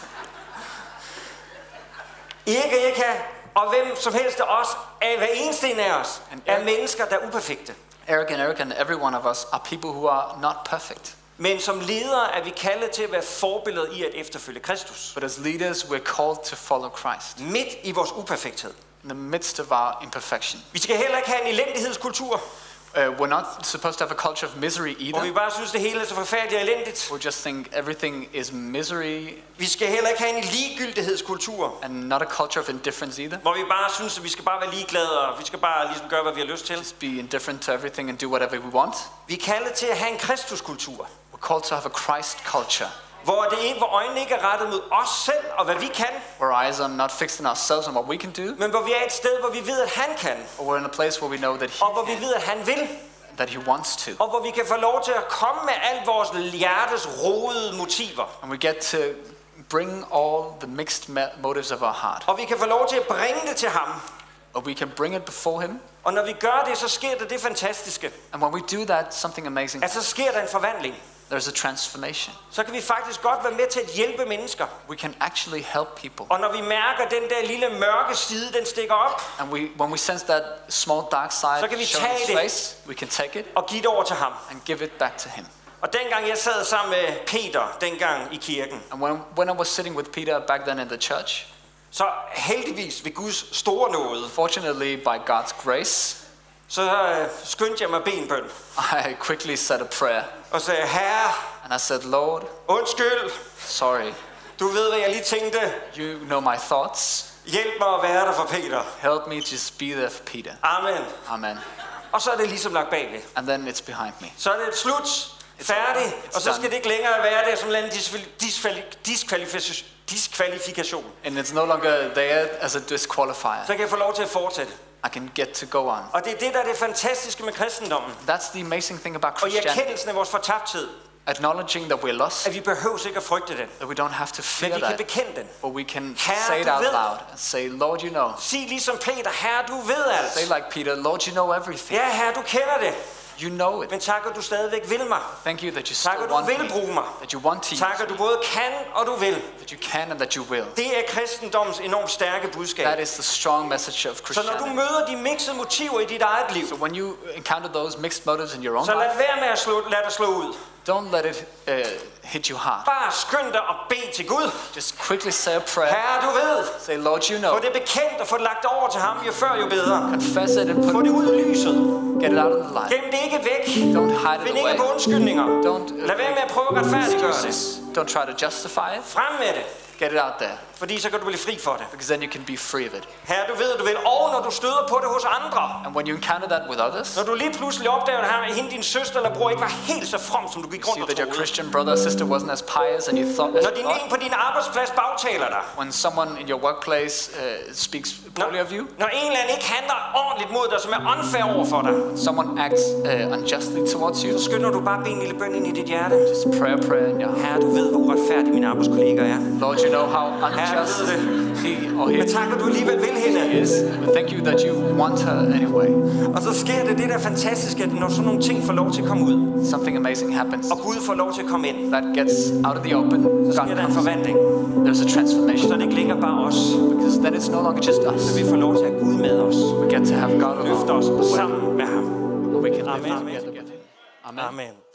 [SPEAKER 1] Erik og Erika, og hvem som helst af os, hver eneste en af os, er mennesker, der er uperfekte.
[SPEAKER 3] Eric and Erica and every one of us are people who are not perfect.
[SPEAKER 1] Men som ledere er vi kaldet til at være forbilleder i at efterfølge Kristus.
[SPEAKER 3] But as leaders, we're called to follow Christ
[SPEAKER 1] Midt i vores uperfekthed.
[SPEAKER 3] in the midst of our imperfection.
[SPEAKER 1] Vi skal heller ikke have en elendighedskultur,
[SPEAKER 3] We're not supposed to have a culture of misery
[SPEAKER 1] hvor vi
[SPEAKER 3] either.
[SPEAKER 1] bare synes, det hele er så forfærdeligt og elendigt.
[SPEAKER 3] We just think everything is misery,
[SPEAKER 1] Vi skal heller ikke have en ligegyldighedskultur,
[SPEAKER 3] and not a culture of indifference either.
[SPEAKER 1] hvor vi bare synes, at vi skal bare være ligeglade, og vi skal bare ligesom gøre, hvad vi har lyst til.
[SPEAKER 3] Just be indifferent to everything and do whatever we want.
[SPEAKER 1] Vi er kaldet til at have en Kristuskultur,
[SPEAKER 3] We're called to have a Christ culture,
[SPEAKER 1] hvor øjnene ikke er rettet mod os selv og hvad vi kan,
[SPEAKER 3] where eyes are not fixed on ourselves and what we can do,
[SPEAKER 1] men hvor vi er et sted, hvor vi ved, at han kan,
[SPEAKER 3] or we're in a place where we know that
[SPEAKER 1] og hvor vi ved, at han vil.
[SPEAKER 3] that he wants to.
[SPEAKER 1] Og hvor vi kan få lov til at komme med alt vores hjertes rodede motiver.
[SPEAKER 3] And we get to bring all the mixed motives of our heart.
[SPEAKER 1] Og vi kan få lov til at bringe det til ham.
[SPEAKER 3] Or we can bring it before him.
[SPEAKER 1] Og når vi gør det, så sker der det fantastiske.
[SPEAKER 3] And when we do that, something amazing.
[SPEAKER 1] At så sker der en forvandling.
[SPEAKER 3] There's a transformation.
[SPEAKER 1] Så kan vi faktisk godt være med til at hjælpe mennesker.
[SPEAKER 3] We can actually help people.
[SPEAKER 1] Og når vi mærker den der lille mørke side, den stikker op.
[SPEAKER 3] And when we sense that small dark side
[SPEAKER 1] Så kan vi
[SPEAKER 3] showing
[SPEAKER 1] tage
[SPEAKER 3] its
[SPEAKER 1] det.
[SPEAKER 3] face, we can take it
[SPEAKER 1] Og give det over til ham.
[SPEAKER 3] and give it back to him.
[SPEAKER 1] Og dengang jeg sad sammen med Peter, dengang i kirken.
[SPEAKER 3] And when I was sitting with Peter back then in the church,
[SPEAKER 1] Så heldigvis ved Guds store nåde.
[SPEAKER 3] fortunately by God's grace,
[SPEAKER 1] Så skyndte jeg mig benbøn.
[SPEAKER 3] I quickly said a prayer.
[SPEAKER 1] Og sagde, Herre,
[SPEAKER 3] And I said, Lord,
[SPEAKER 1] undskyld.
[SPEAKER 3] sorry,
[SPEAKER 1] Du ved, hvad jeg lige tænkte.
[SPEAKER 3] you know my thoughts.
[SPEAKER 1] Hjælp mig at være der for Peter.
[SPEAKER 3] Help me just be there for Peter.
[SPEAKER 1] Amen.
[SPEAKER 3] Amen.
[SPEAKER 1] Og så er det ligesom lagt bagved.
[SPEAKER 3] And then it's behind me.
[SPEAKER 1] Så er det slut. Færdig. Og så skal det ikke længere være der som en diskvalifikation.
[SPEAKER 3] And it's no longer there as a disqualifier.
[SPEAKER 1] Så kan jeg få lov til at fortsætte.
[SPEAKER 3] I can get to go on.
[SPEAKER 1] Og det er det, der er det fantastiske med kristendommen.
[SPEAKER 3] That's the amazing thing about
[SPEAKER 1] Og i
[SPEAKER 3] Christianity.
[SPEAKER 1] erkendelsen af vores fortabthed,
[SPEAKER 3] Acknowledging that we're lost,
[SPEAKER 1] at vi behøver ikke at frygte den.
[SPEAKER 3] that we don't have to
[SPEAKER 1] Men
[SPEAKER 3] fear
[SPEAKER 1] vi kan
[SPEAKER 3] that,
[SPEAKER 1] bekende den.
[SPEAKER 3] but we can
[SPEAKER 1] Herre,
[SPEAKER 3] say it
[SPEAKER 1] du
[SPEAKER 3] out
[SPEAKER 1] ved.
[SPEAKER 3] loud and say, Lord, you know.
[SPEAKER 1] Sig ligesom Peter, Herre, du ved alt.
[SPEAKER 3] Say like Peter, Lord, you know everything.
[SPEAKER 1] Ja, Herre, du kender det.
[SPEAKER 3] You know it.
[SPEAKER 1] Men tak, at du stadigvæk vil mig.
[SPEAKER 3] Thank you that you
[SPEAKER 1] Tak,
[SPEAKER 3] still
[SPEAKER 1] at du
[SPEAKER 3] want
[SPEAKER 1] vil
[SPEAKER 3] me,
[SPEAKER 1] bruge mig.
[SPEAKER 3] that you want to use
[SPEAKER 1] Tak, at du både kan og du vil.
[SPEAKER 3] that you can and that you will.
[SPEAKER 1] Det er kristendommens enormt stærke budskab.
[SPEAKER 3] That is the strong message of
[SPEAKER 1] Så når du
[SPEAKER 3] Christianity.
[SPEAKER 1] møder de mixede motiver i dit eget liv,
[SPEAKER 3] So when you encounter those mixed motives in your own
[SPEAKER 1] så lad
[SPEAKER 3] life,
[SPEAKER 1] være med at lade dig slå ud.
[SPEAKER 3] don't let it hit you hard.
[SPEAKER 1] Bare skynd dig og bed til Gud.
[SPEAKER 3] Just quickly say a prayer.
[SPEAKER 1] Herre, du ved.
[SPEAKER 3] Say, Lord, you
[SPEAKER 1] Få
[SPEAKER 3] know.
[SPEAKER 1] det bekendt og få det lagt over til ham, jo før jo bedre.
[SPEAKER 3] Confess it and
[SPEAKER 1] Få
[SPEAKER 3] put
[SPEAKER 1] det ud i lyset.
[SPEAKER 3] get it out in the light.
[SPEAKER 1] Gem det ikke væk.
[SPEAKER 3] Don't hide
[SPEAKER 1] Find
[SPEAKER 3] it
[SPEAKER 1] ikke
[SPEAKER 3] away.
[SPEAKER 1] på undskyldninger.
[SPEAKER 3] Don't
[SPEAKER 1] Lad være med at prøve at retfærdiggøre det.
[SPEAKER 3] excuses. Don't try to justify it.
[SPEAKER 1] Frem med det.
[SPEAKER 3] Get it out there,
[SPEAKER 1] Fordi så kan du blive fri for det.
[SPEAKER 3] because then you can be free of it.
[SPEAKER 1] Herre, du ved, du vil. Og når du støder på det hos andre.
[SPEAKER 3] And when you encounter that with others,
[SPEAKER 1] Når du lige pludselig opdager, at hende, din søster eller bror ikke var helt så from, som du gik
[SPEAKER 3] see
[SPEAKER 1] rundt og
[SPEAKER 3] that your
[SPEAKER 1] troede.
[SPEAKER 3] Christian brother or sister wasn't as pious and you thought.
[SPEAKER 1] Når din en på din arbejdsplads bagtaler dig.
[SPEAKER 3] When someone in your workplace speaks poorly of you,
[SPEAKER 1] Når en eller anden ikke handler ordentligt mod dig, som er unfair over for dig.
[SPEAKER 3] someone acts unjustly towards you,
[SPEAKER 1] Så skynder du bare at bede en lille bøn ind i dit hjerte.
[SPEAKER 3] just pray a prayer in your heart.
[SPEAKER 1] Herre, du ved, hvor uretfærdig mine arbejdskolleger er.
[SPEAKER 3] Lord, you know how unjust
[SPEAKER 1] ved
[SPEAKER 3] he or
[SPEAKER 1] Men
[SPEAKER 3] he
[SPEAKER 1] tak, at du alligevel vil hende.
[SPEAKER 3] is. But thank you that you want her anyway.
[SPEAKER 1] Og så sker det der fantastiske, at når sådan nogle ting får lov til at komme ud,
[SPEAKER 3] Something amazing happens.
[SPEAKER 1] og Gud får lov til at komme ind,
[SPEAKER 3] That gets out of the open.
[SPEAKER 1] så sker
[SPEAKER 3] God
[SPEAKER 1] der en
[SPEAKER 3] comes.
[SPEAKER 1] forvandling.
[SPEAKER 3] There's a
[SPEAKER 1] Så
[SPEAKER 3] transformation.
[SPEAKER 1] er det ikke længere bare os.
[SPEAKER 3] Because then it's no longer just us.
[SPEAKER 1] Vi får lov til at have Gud med os.
[SPEAKER 3] We get to have God
[SPEAKER 1] Løfte
[SPEAKER 3] along
[SPEAKER 1] os
[SPEAKER 3] the way.
[SPEAKER 1] sammen med ham.
[SPEAKER 3] And we can live
[SPEAKER 1] Amen.
[SPEAKER 3] together with him. Amen.
[SPEAKER 1] Amen.